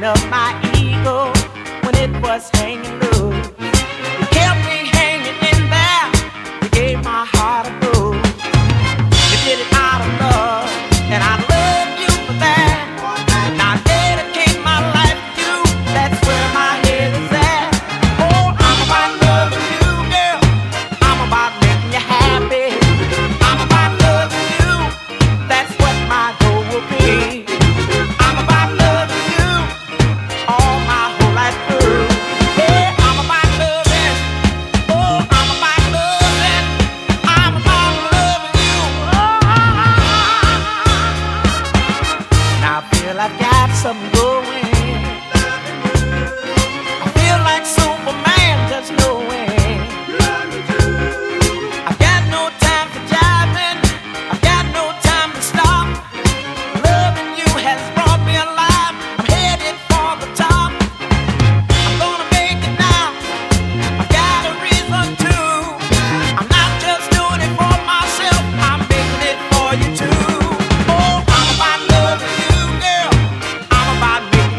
strain of my ego when it was hanging low. You kept me hanging in there. You gave my heart a blow. You did it out of love, and I love you for that. Now I dedicate my life to you. That's where my head is at. Oh, I'm about loving you, girl. I'm about making you happy. I'm about loving you. That's what my goal will be. I'm about loving you all my whole life through. Yeah, I'm about loving. Oh, I'm about loving. I'm about loving you. Now I feel I've got something going. I feel like Superman just knowing. I've got no time for jiving. I've got no time to stop. Loving you has brought me alive. I'm headed for the top. I'm gonna make it now. I've got a reason to. I'm not just doing it for myself. I'm making it for you too. Oh, I'm about loving you, girl. I'm about making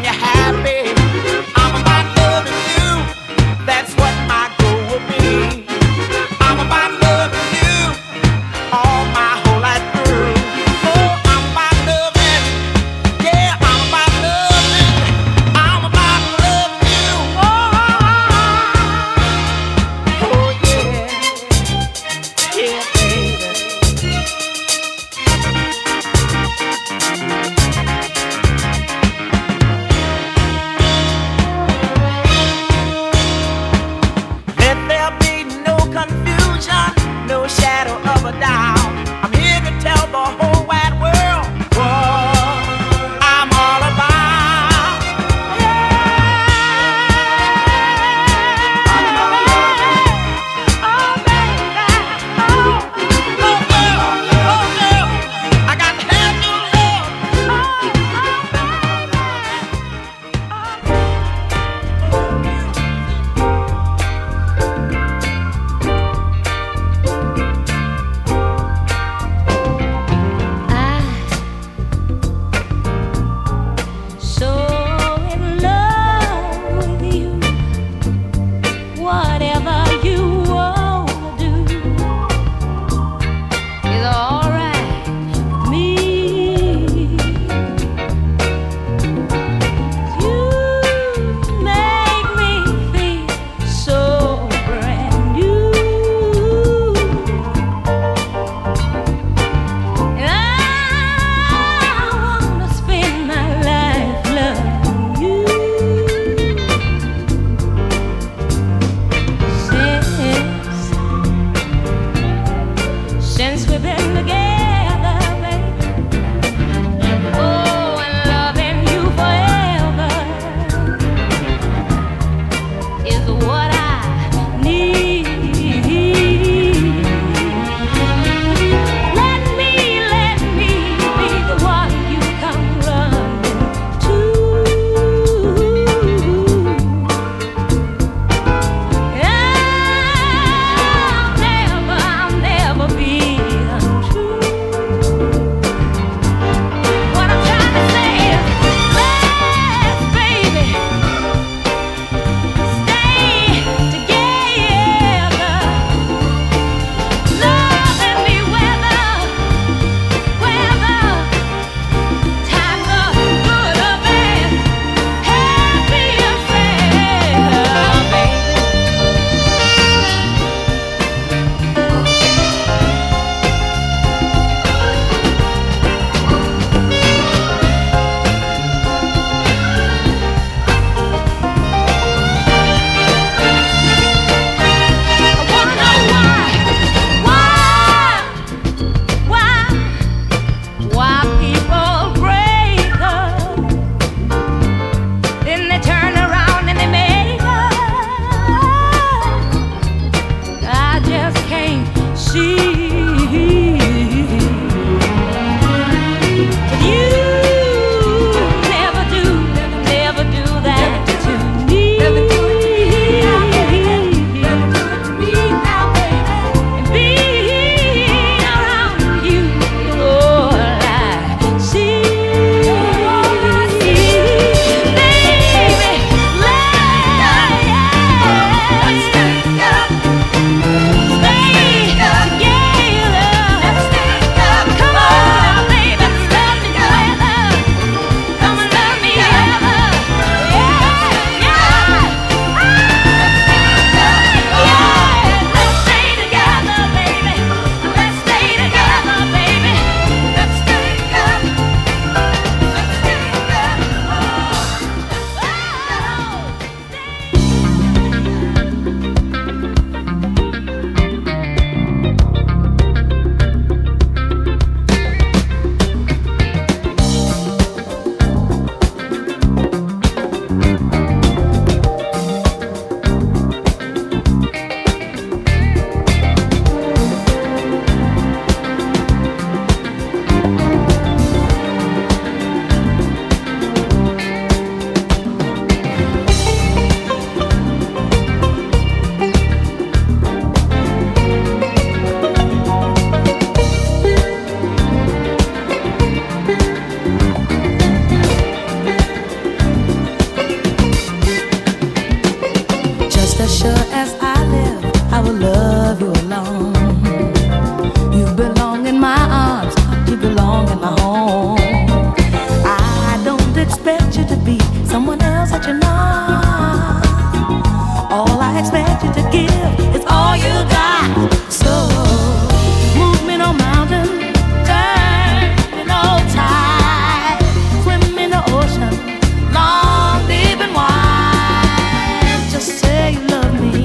girls that you know. All I expect you to give is all you got. So move me no mountain, turn me no tide, swim in the ocean, long, deep and wide. Just say you love me,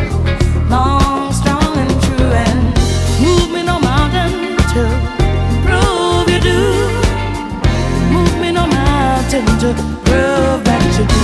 long, strong and true, and move me no mountain to prove you do. Move me no mountain to prove that you do.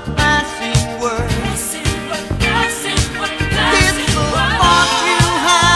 You have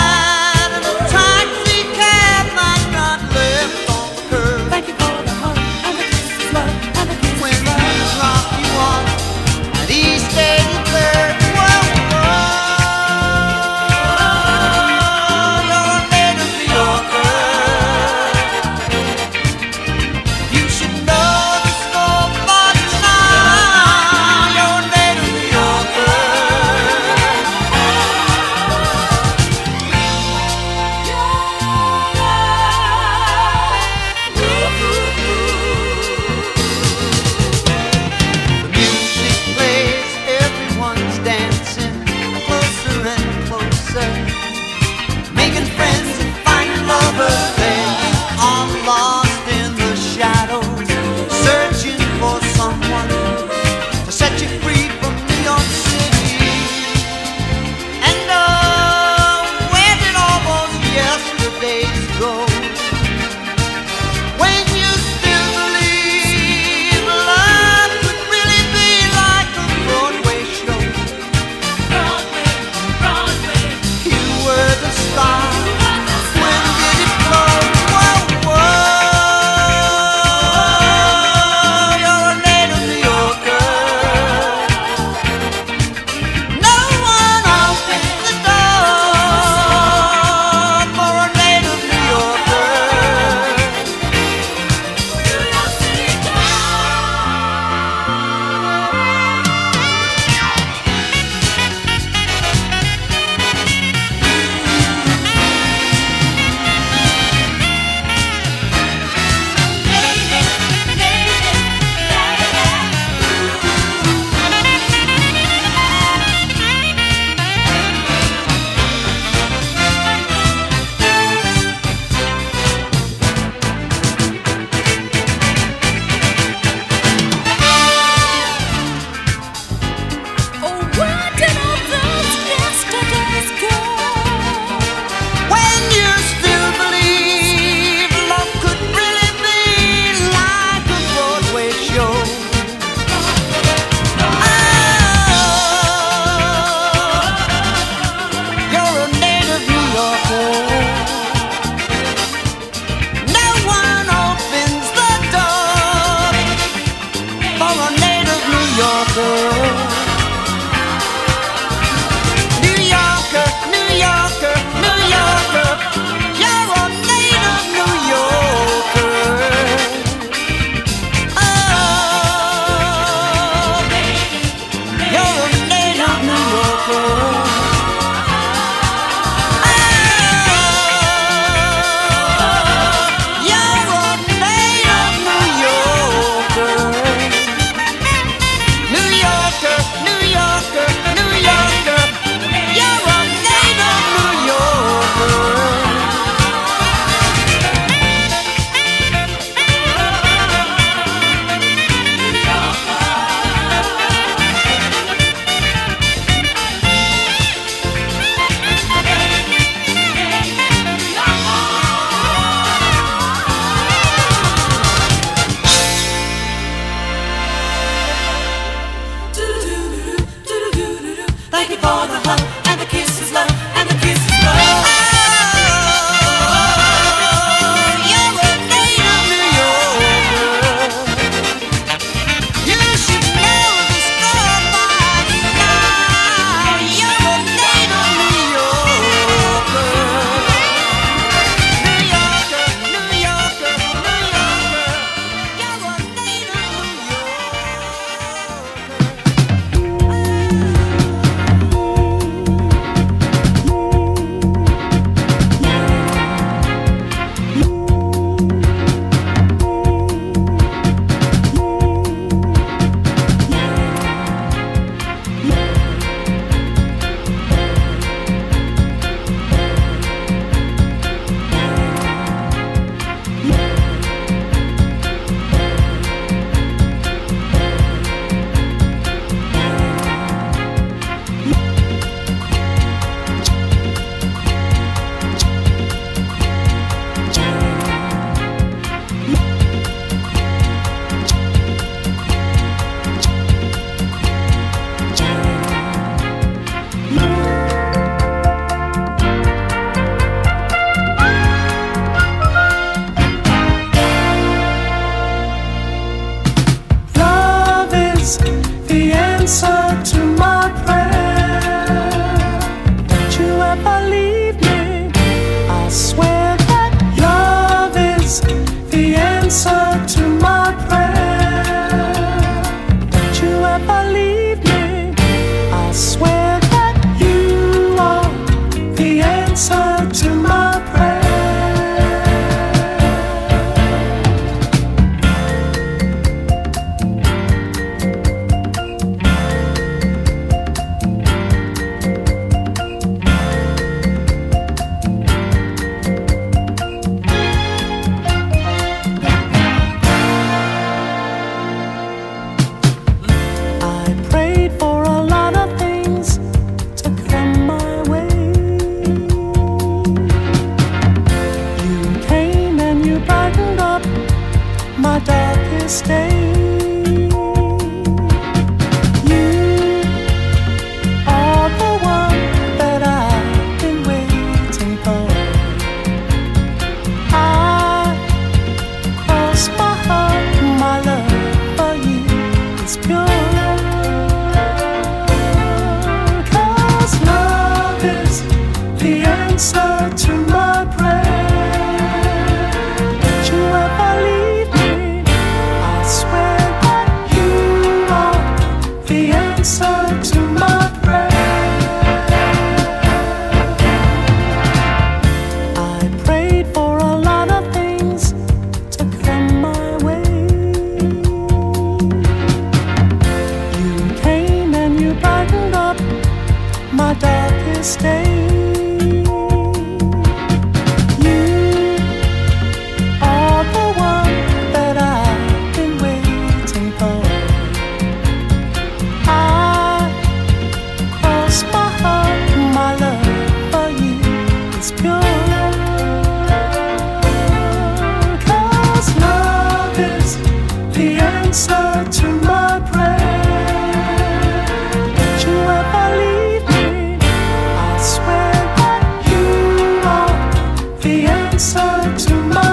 ever leave me, I swear that love is the answer to my prayer. Don't you ever leave me, I swear that you are the answer to my prayer. Stay. You are the one that I've been waiting for. I cross my heart, my love for you is pure. 'Cause love is the answer to my prayer. Don't you ever leave me, swear that you are the answer to my prayer. I prayed for a lot of things to come my way. You came and you brightened up my darkest day. To my prayer. Don't you ever leave me, I swear that you are the answer to my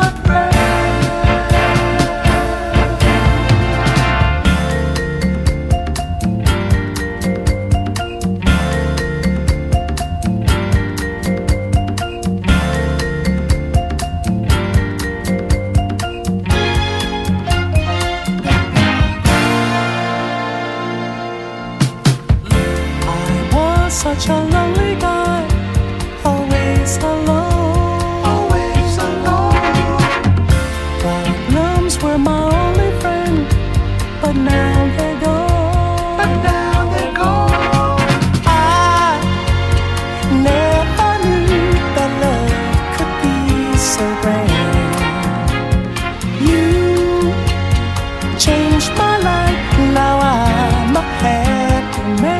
such a lonely guy, always alone, always alone. Problems were my only friend, but now they're gone. But now they're gone. I never knew that love could be so grand. You changed my life, now I'm a happy man.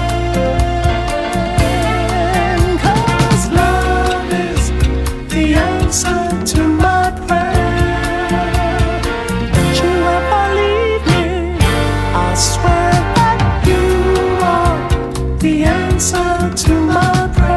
To my prayer. Don't you ever leave me, I swear that you are the answer to my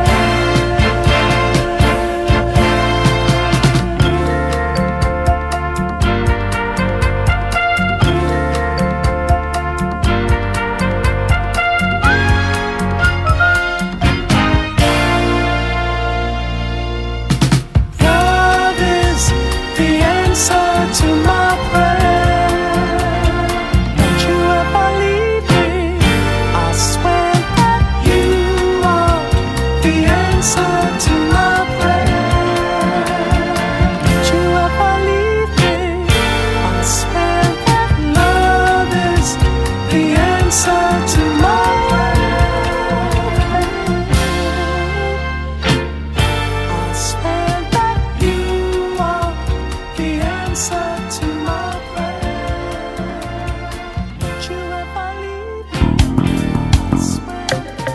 to my prayer. Don't you ever leave me, I swear that you are the answer to my prayer. Don't you ever leave me, I swear that love is the answer to my prayer. I swear that you are the answer to my prayer. Don't you ever leave me, I swear.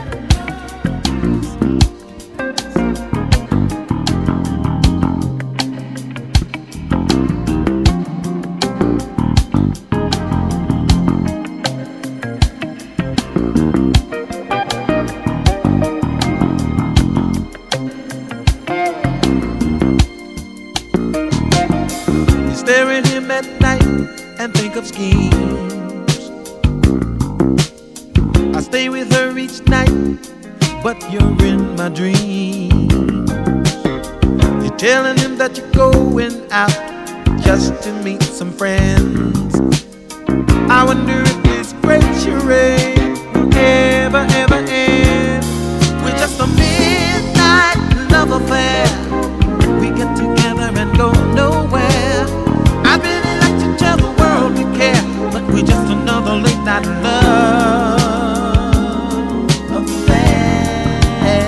Stare at him at night and think of schemes. I stay with her each night but you're in my dream. You're telling him that you're going out just to meet some friends. I wonder if this great charade will ever, ever end. We're just a midnight love affair. We get together and go nowhere. I really like to tell the world we care, but we're just another late night love affair.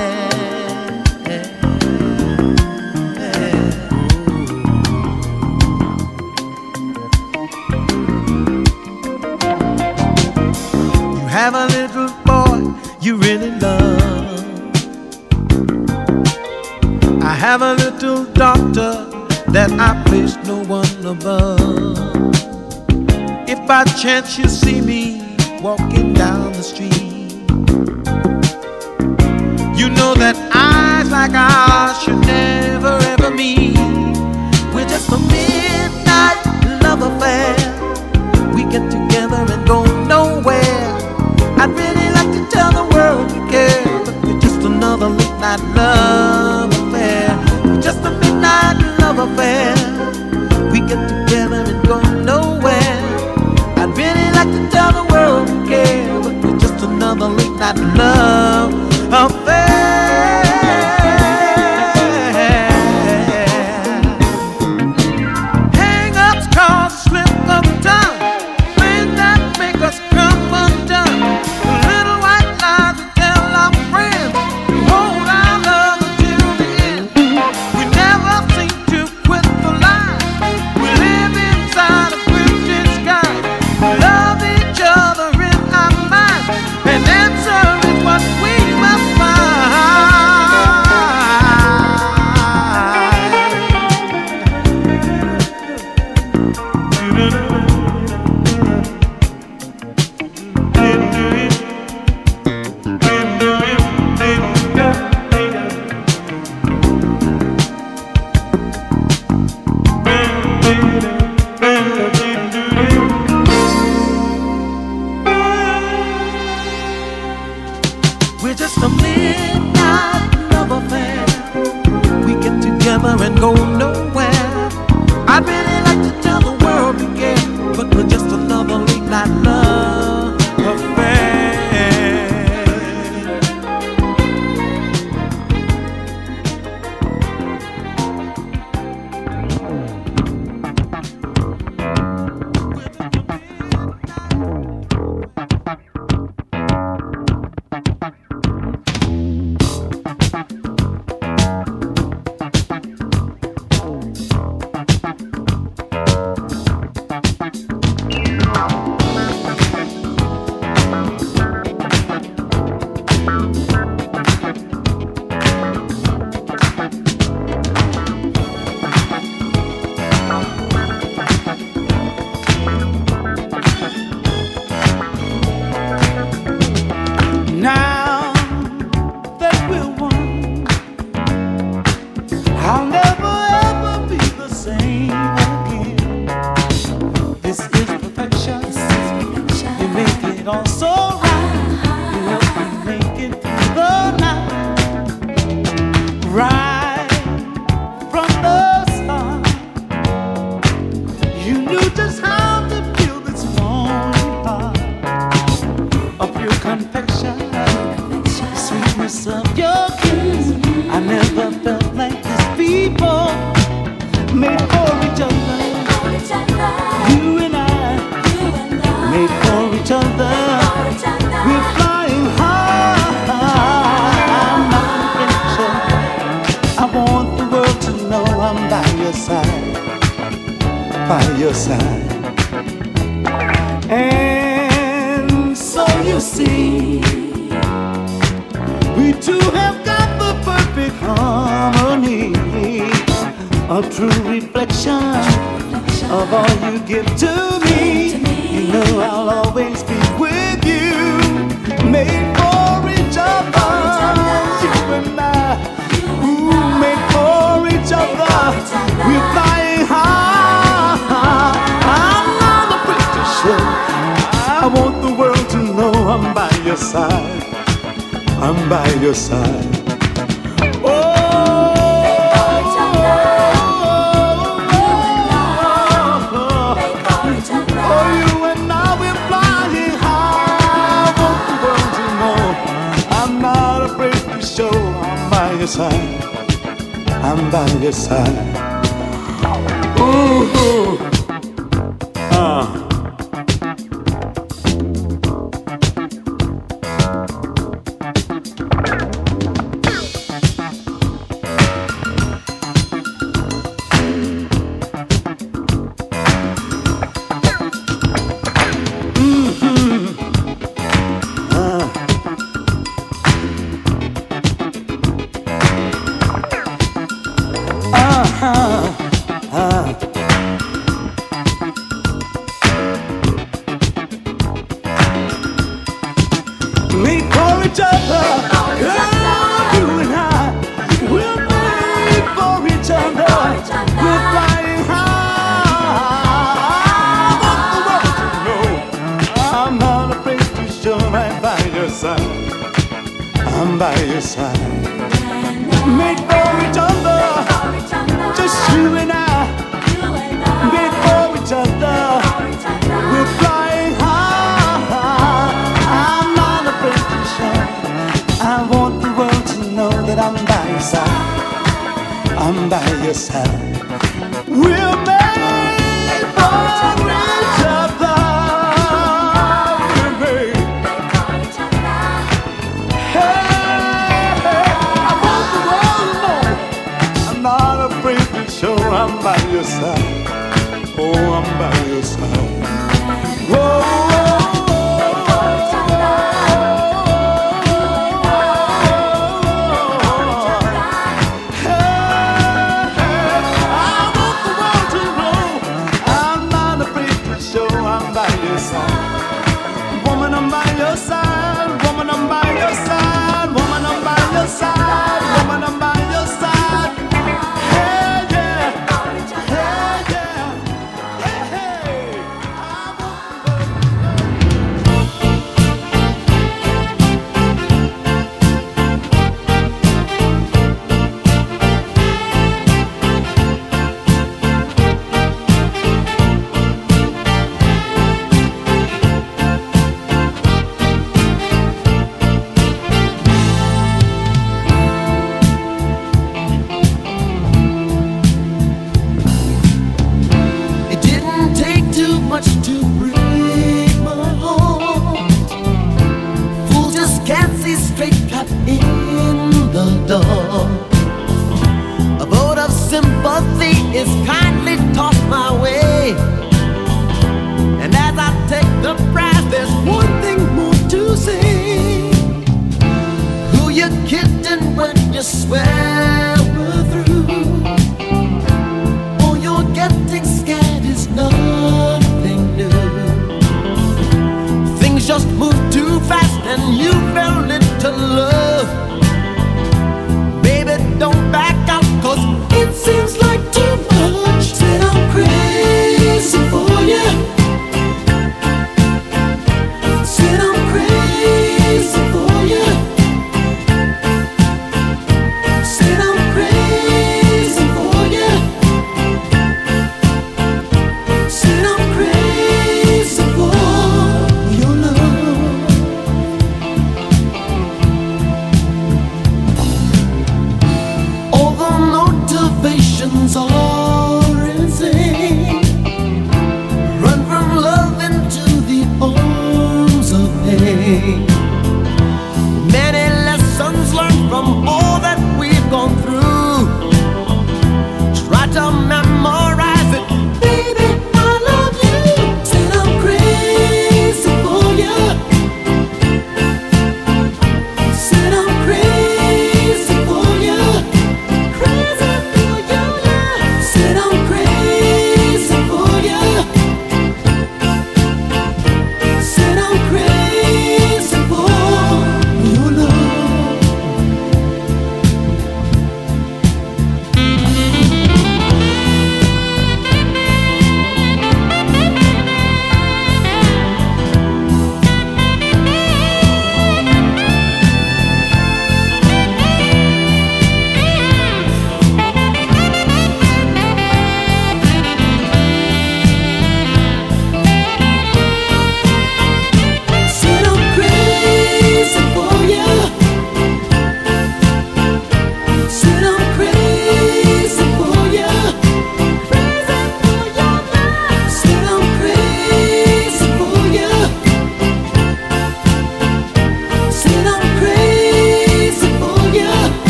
You have a little boy you really love. I have a little daughter that I place no one above. If by chance you see me walking down the street, you know that eyes like ours should never ever meet. We're just a midnight love affair. We get together and go nowhere. I'd really like to tell the world we care, but we're just another late night love affair. We're just a midnight love affair. We get together and go nowhere. I'd really like to tell the world we care, but we're just another late night love affair. Hang-ups cause slip of the tongue, things that make us come undone. The little white lies we tell our friends to hold our love until the end. We never seem to quit the line. We live inside a drifting sky. We love each other in our minds. An answer is what we must find. We're just a midnight love affair. We get together and go nowhere. I'd really like to tell the world we care, but we're just another late night love affair. Now that we're one, I'll never ever be the same again. This is perfection. You make it all so right. You help me make it through the night. Right from the start, you knew just how to feel this lonely heart. A pure confection, sweetness of your kiss. I never felt like this before. Made for each other, you and I. Made for each other, we're flying high. I'm not perfection. I want the world to know I'm by your side, by your side. And so you see, we two have got the perfect harmony, a true reflection of all you give to me. You know I'll always be with you, made for each other, you and I. Ooh, made for each other, we're flying high. I'm not a pretty show. I want the world to know I'm by your side, I'm by your side. I'm by your side. Ooh, made for each other. You and I, we're made for each other. We're flying high. I want the world to know I'm not afraid to show right by your side. I'm by your side. Made for each other, just you and I. Made for each other. We're flying high. I'm not afraid to show. I want the world to know that I'm by your side. I'm by your side. We're made for each other. We're made. Hey, I want the world to know I'm not afraid to show. I'm by your side. Oh, I'm by your side. Whoa. Woman, I'm by your side. Woman, I'm by your side. Woman, I'm by your side. Woman, I'm by your side. Hey, yeah. Hey, yeah. Hey, hey. To break my heart, fool just can't see straight, cut in the dark. A vote of sympathy is kindly tossed my way, and as I take the prize, there's one thing more to say. Who you kidding when you swear we're through? All you're getting scared is nothing new. Things just move too fast and you fell into love. Baby, don't back out, 'cause it seems like too much. Said I'm crazy for you. Said I'm crazy for you. Said I'm crazy for you. Said I'm crazy for your love. All the motivations are insane. Run from love into the arms of pain. Many lessons learned from all that we've gone through. Try to memorize it, baby. I love you. Said I'm crazy for you. Said I'm crazy for you. Crazy for you, yeah.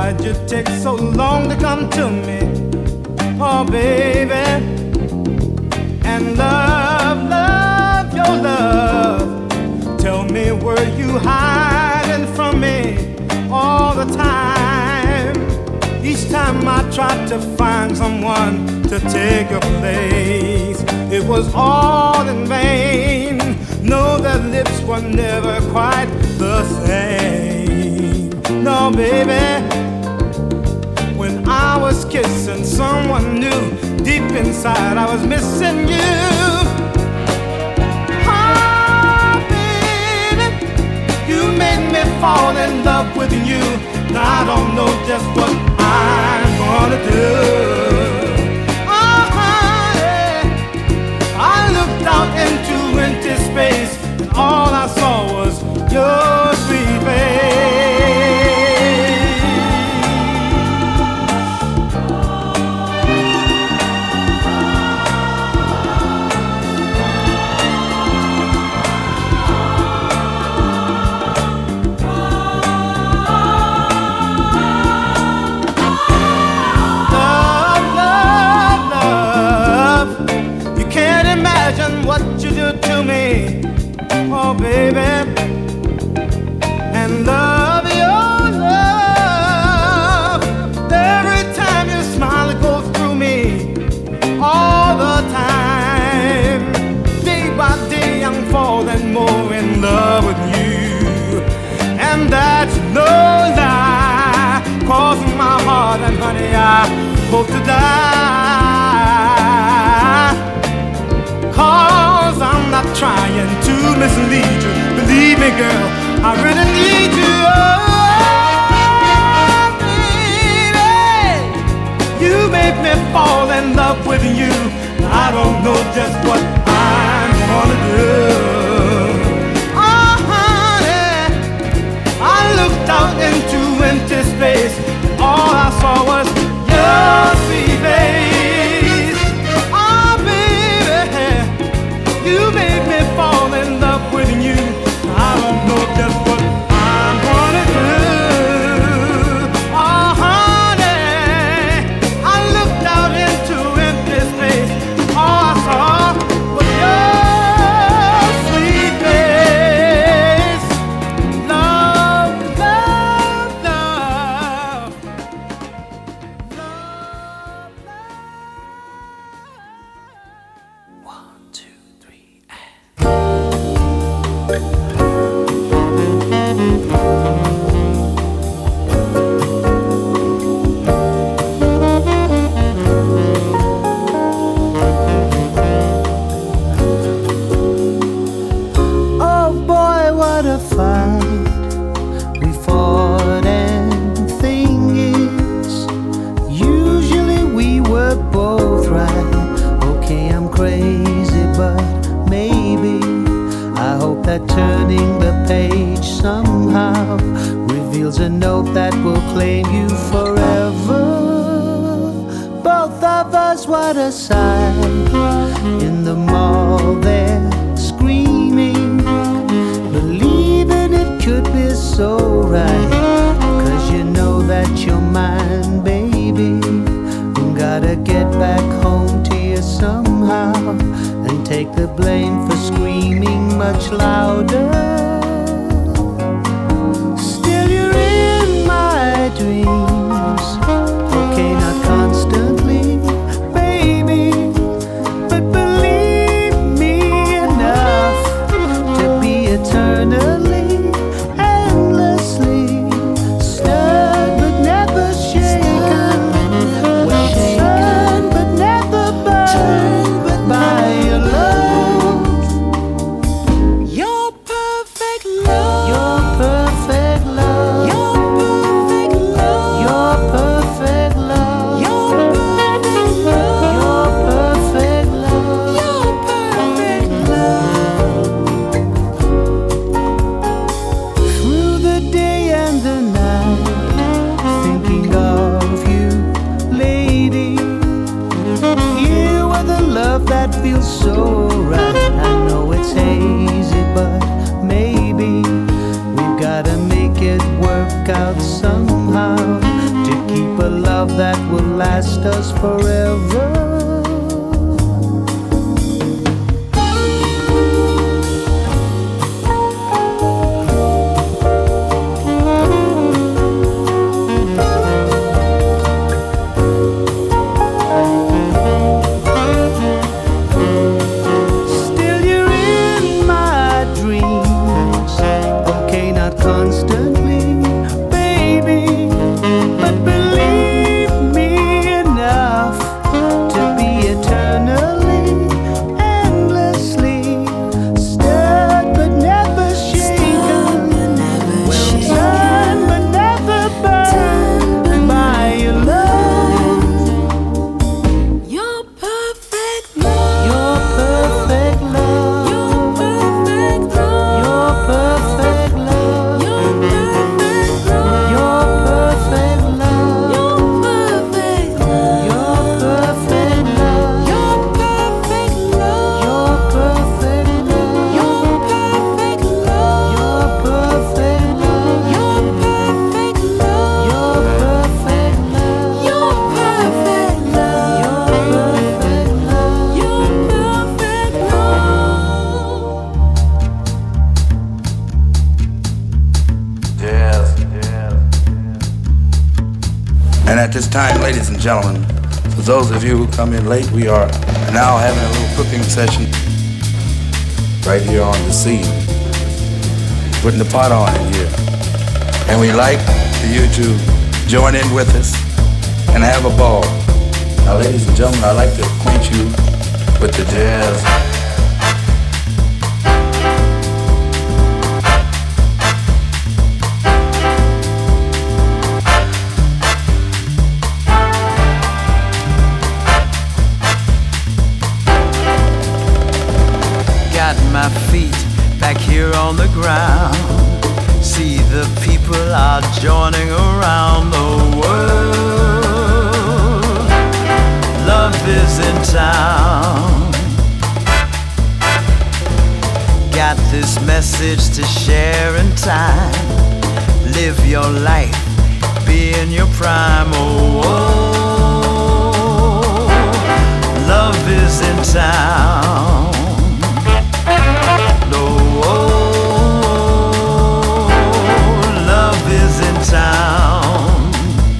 Why'd you take so long to come to me? Oh, baby. And love, love, your love. Tell me, were you hiding from me all the time? Each time I tried to find someone to take your place, it was all in vain. No, their lips were never quite the same. No, baby. When I was kissing someone new, deep inside I was missing you. Oh, baby, you made me fall in love with you. Now I don't know just what I'm gonna do. Oh, honey, I looked out into empty space, and all I saw was your sweet face. What you do to me, oh baby, and love, your love. Every time you smile, it goes through me all the time. Day by day, I'm falling more in love with you, and that's no lie. Crossing my heart, and honey, I hope to die. 'Cause I'm not trying to mislead you. Believe me, girl, I really need you. Oh, baby, you made me fall in love with you. I don't know just what I'm gonna do. Oh, honey, I looked out into empty space, and all I saw was your sweet face. Oh, baby, you made me fall in love with you. I don't know just what I'm gonna do. Oh, honey, I looked out into empty space. All I saw was your sweet face. Love, love, love. Love, love. 1, 2, 3, Oh boy, what a fight we fought, and thing is, usually we were both right. Okay, I'm crazy, but maybe I hope that turning the page somehow reveals a note that will claim you forever. Both of us, what a sight. In the mall they're screaming, believing it could be so right. 'Cause you know that you're mine, baby. Gotta get back home to you somehow, and take the blame for screaming much louder. Still you're in my dreams. Okay, not constantly, baby, but believe me enough to be eternally, endlessly stirred but never shaken, turned but never burned by your love. Your perfect love. Your perfect love. Your perfect love. Your perfect love. Your perfect love. Your perfect love. Your perfect love. Through the day and the night, thinking of you, lady. You are the love that feels so right. I know it's hazy, but maybe we've gotta make it work out somehow. love that will last us forever. At this time, ladies and gentlemen, for those of you who come in late, we are now having a little cooking session right here on the scene. Putting the pot on in here. And we'd like for you to join in with us and have a ball. Now, ladies and gentlemen, I'd like to acquaint you with the jazz. My feet back here on the ground. See the people are joining around the world. Love is in town. Got this message to share in time. Live your life, be in your prime. Oh, oh. Love is in town. Love is in town.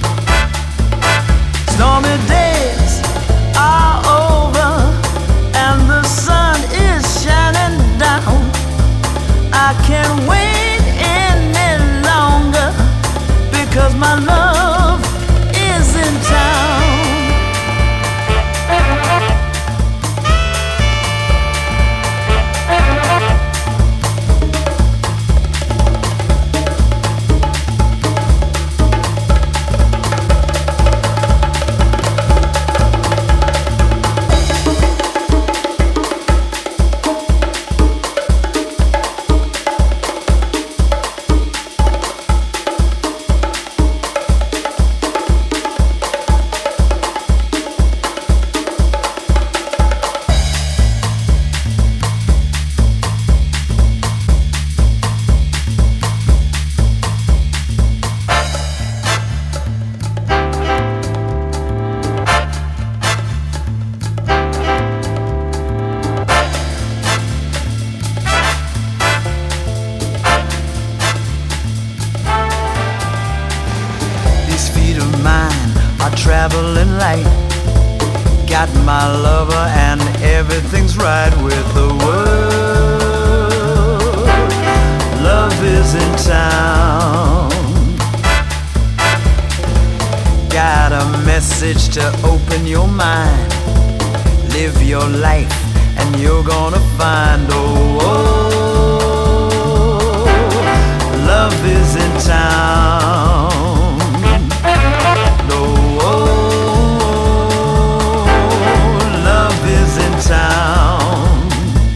Stormy days are over and the sun is shining down. I can't wait any longer because my love is in town. Traveling light, got my lover and everything's right with the world. Love is in town. Got a message to open your mind. Live your life and you're gonna find oh, oh, love is in town. Town.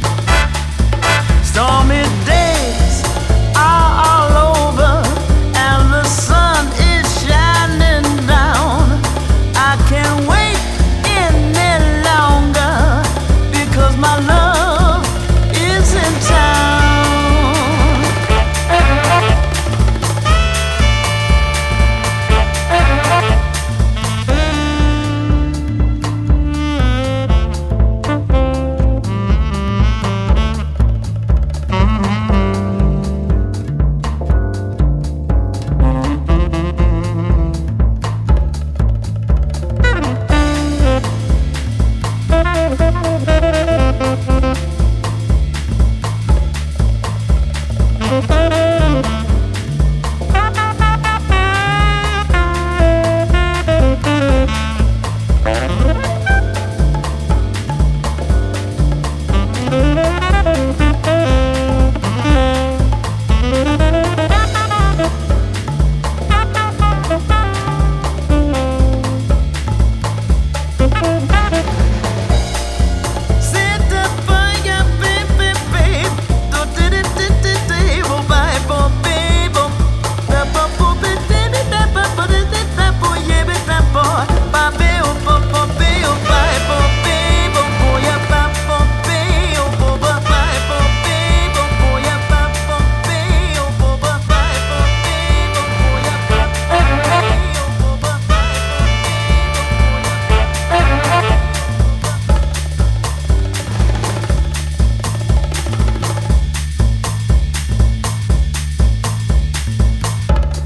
Stormy days are all over and the sun is shining down. I can't wait any longer because my love is in town.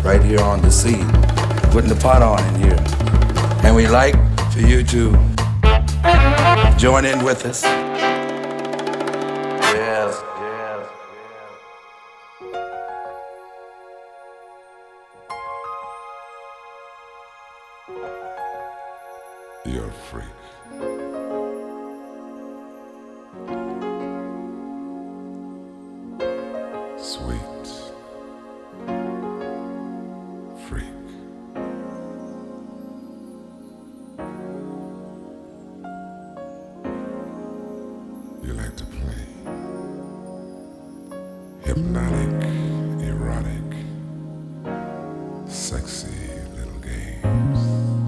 right here on the scene, putting the pot on in here. And we like for you to join in with us. Yes, yes. You're a freak. Sweet freak. You like to play hypnotic, erotic, sexy little games.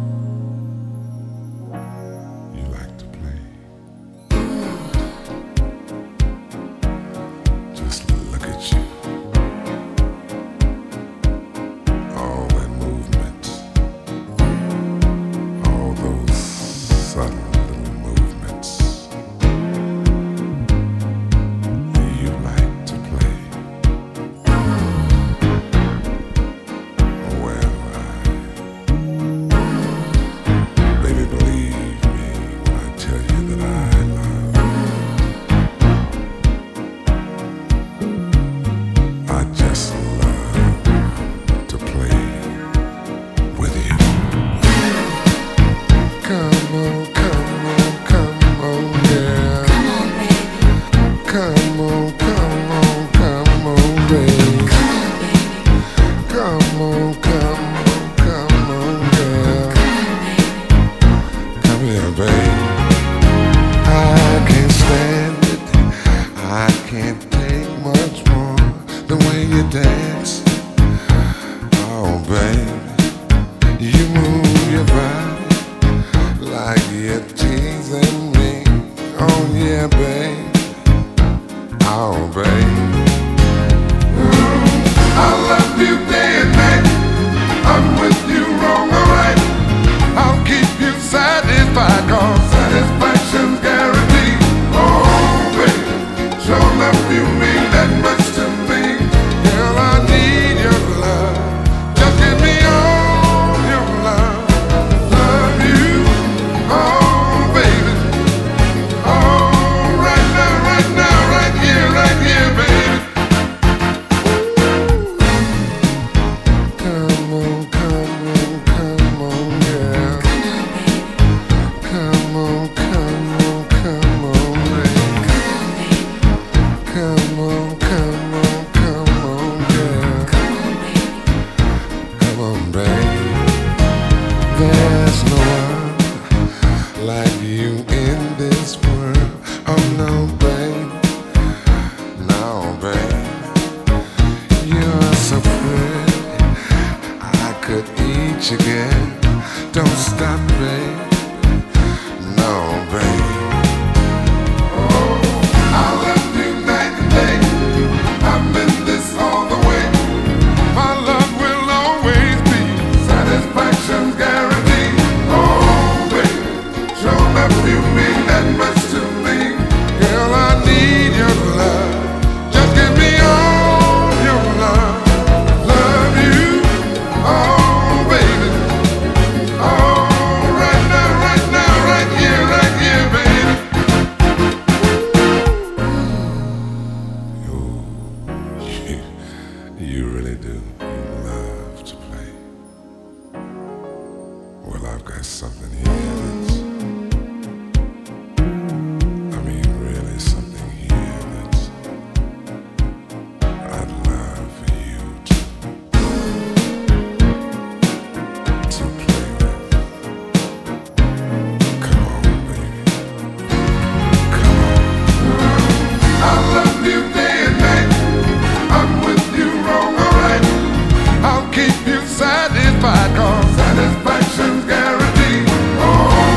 You like to play. Just look at you. All that movement. All those subtle little movements. You like to play. Well, baby, believe me when I tell you that I love. I just love to play with you. Come on, come on, come on, yeah. Come on, come on, come on, baby. Come on, come on, come on, yeah. Come here, baby. I can't stand it. I can't take much more. The way you dance. Oh, baby. You move your body like you're teasing me. Oh, yeah, baby. Oh, baby. I love you day and night. I'm with you wrong or right. I'll keep you satisfied, 'cause satisfaction's guaranteed. Oh, baby, sure enough you mean that much to me. Girl, I need your love. Just give me all your love. Love you, oh, baby. Oh, right now, right here, baby. Come on, come on, come on, yeah. Come on, come on, come on, baby. Come on, come on, come on, yeah. Come on, baby. There's no one like you in this world. Oh, no, babe. No, babe. You're so pretty. I could eat you again. Don't stop, babe. No, babe. Oh, I love you night and day. I'm in this all the way. My love will always be satisfaction's guaranteed. Oh, baby, sure enough you mean that much to me. Girl, I need your love. Just give me all your love. Love you, oh, baby. Oh, right now, right here, baby. You really do. You love to play. Well, I've got something here that's, I mean, really something here that's, I'd love for you to play with. Come on, baby. Come on. I love you day and night. I'm with you wrong or right. I'll keep you satisfied, 'cause satisfaction's guaranteed. Oh,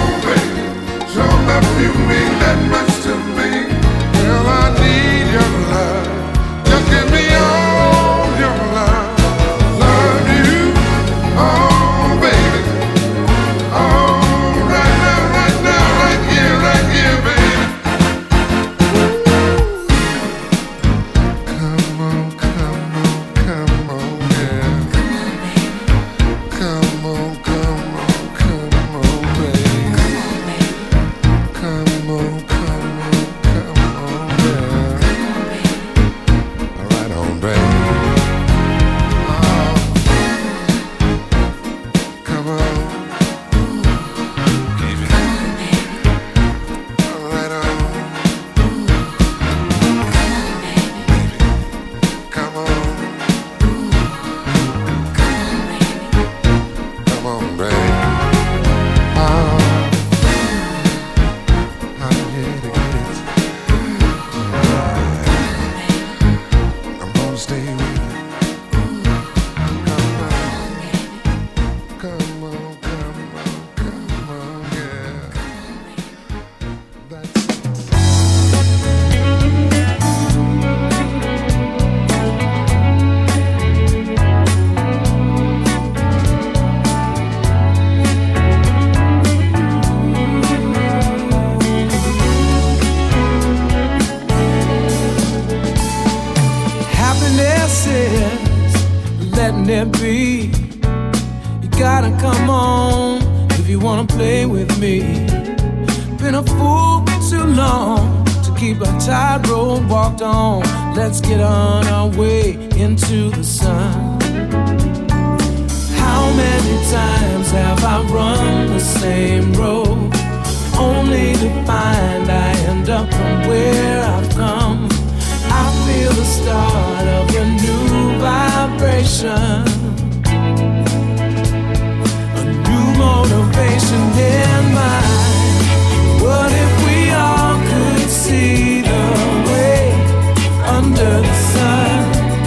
gotta come on if you wanna play with me. Been a fool too long to keep a tightrope walked on. Let's get on our way into the sun. How many times have I run the same road, only to find I end up from where I've come? I feel the start of a new vibration, a new motivation in mind. What if we all could see the way under the sun?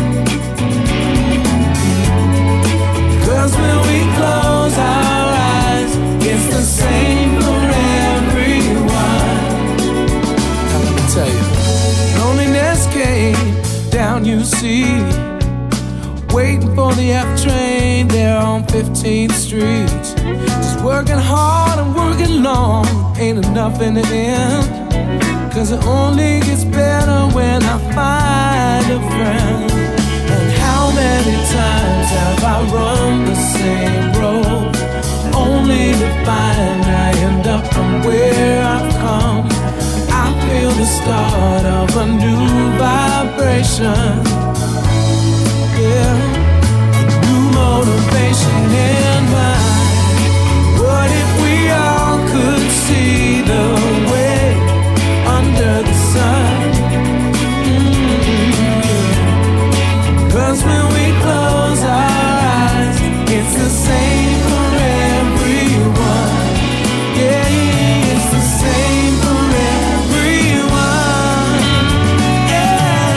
'Cause when we close our eyes, it's the same for everyone. Now let me tell you, loneliness came down, you see, waiting for the F train there on 15th Street. Just working hard and working long ain't enough in the end, 'cause it only gets better when I find a friend. And how many times have I run the same road, only to find I end up from where I've come? I feel the start of a new vibration, yeah, a new motivation in mind. What if we all could see the way under the sun? 'Cause when we close our eyes, it's the same for everyone. Yeah, it's the same for everyone. Yeah,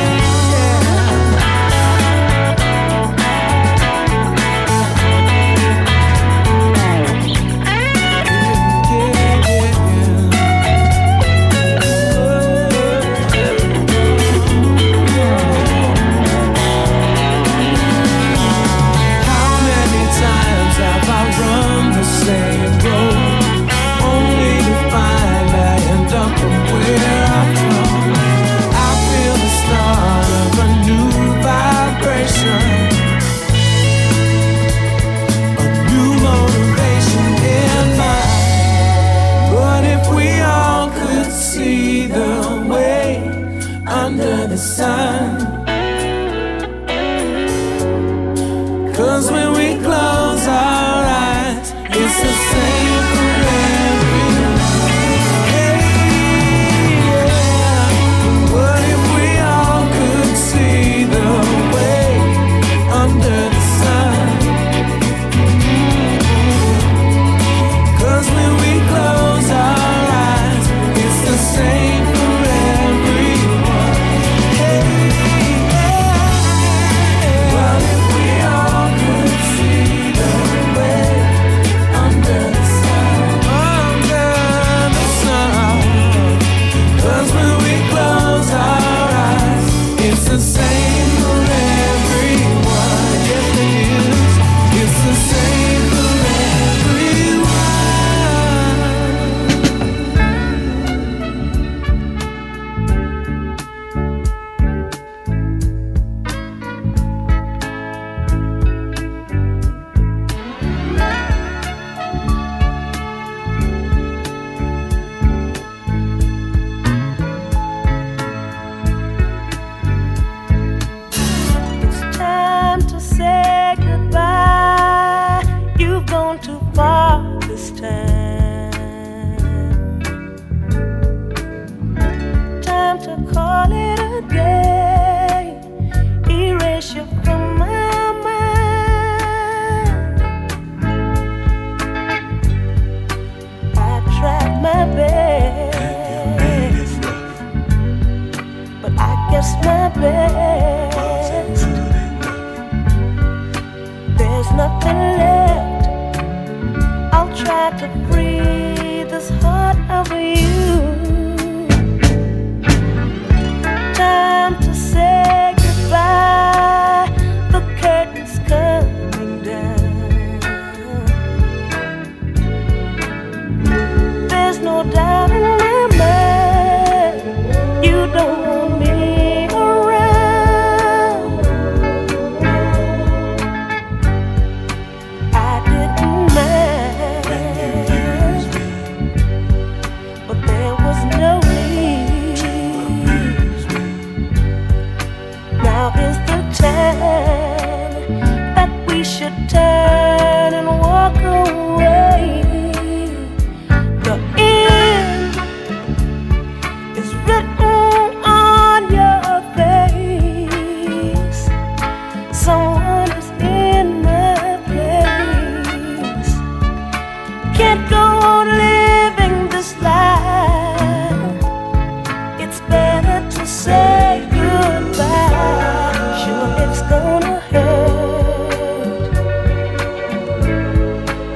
how many times have I run the same road, only to find I end up from where I've come? I feel the start of a new vibration, a new motivation in mind. What if we all could see the way under the sun? 'Cause when we close our eyes, it's the same for everyone. Hey, yeah. What if we all could see the way under the sun? 'Cause when we close our eyes, it's the same for everyone. Hey, yeah. What if we all could see the way under the sun? Under the sun. 'Cause when we close our eyes, it's the same for everyone. Yes, it is. It's the same for everyone. It's time to say goodbye. You've gone too far this time. Time to call it a day. Erase you from my mind. I tried my best, but I guess my best. There's nothing left. I'll try to free this heart of you. Time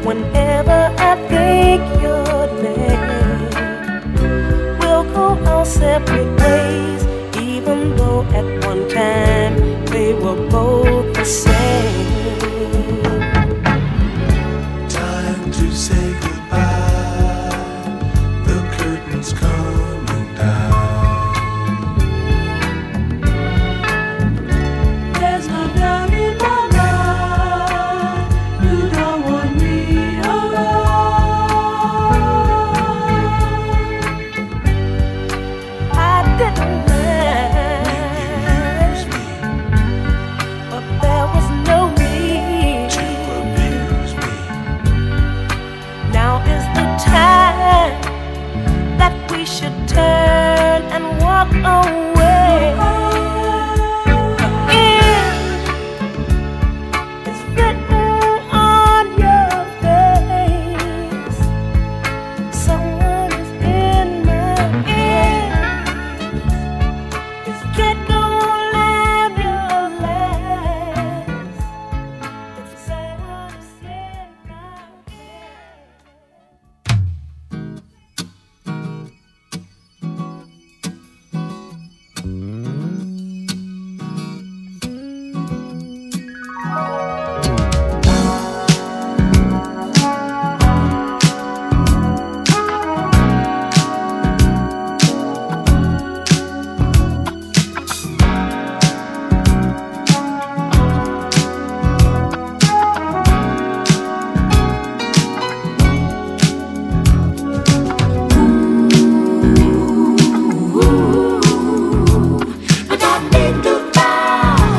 whenever I think your name. We'll go our separate ways, even though at one time they were both the same. Time to say goodbye, the curtain's coming down. There's no doubt in my mind, you don't want me around. I didn't mind, but there was no need To abuse me. Now is the time that we should turn and walk away. The end is written on your face. Someone is in my ears. Kid, go live your life. It's sad to say now. But I did goodbye.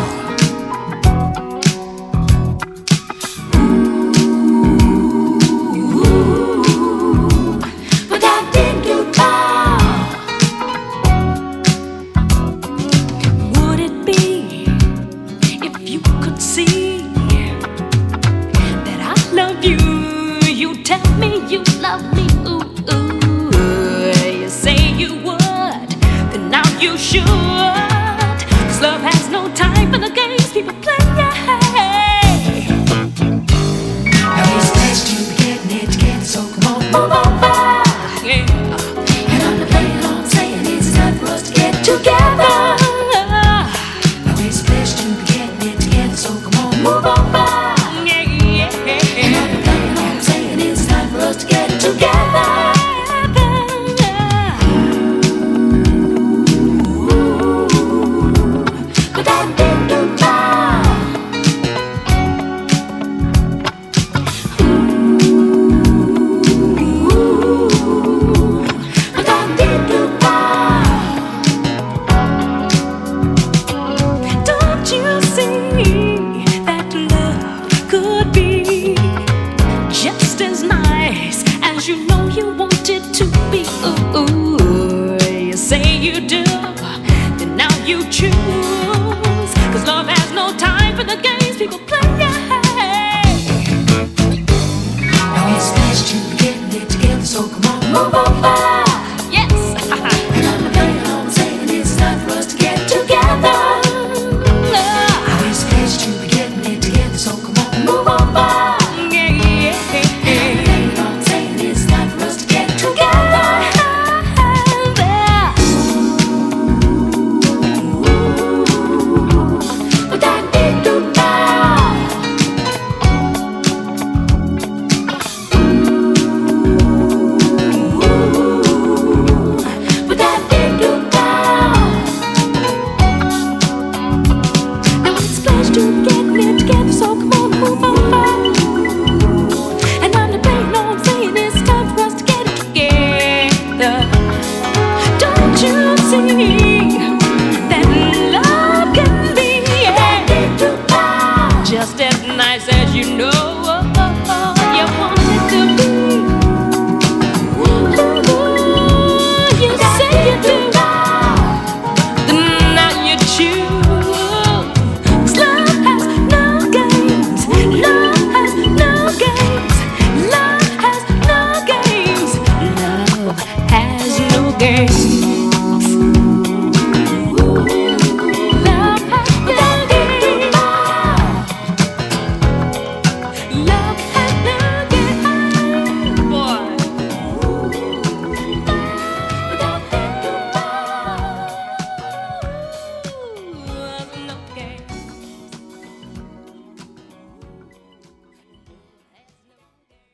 But I did goodbye. Would it be if you could see that I love you? You tell me you love me. Ooh, ooh. You say you would, then now you should.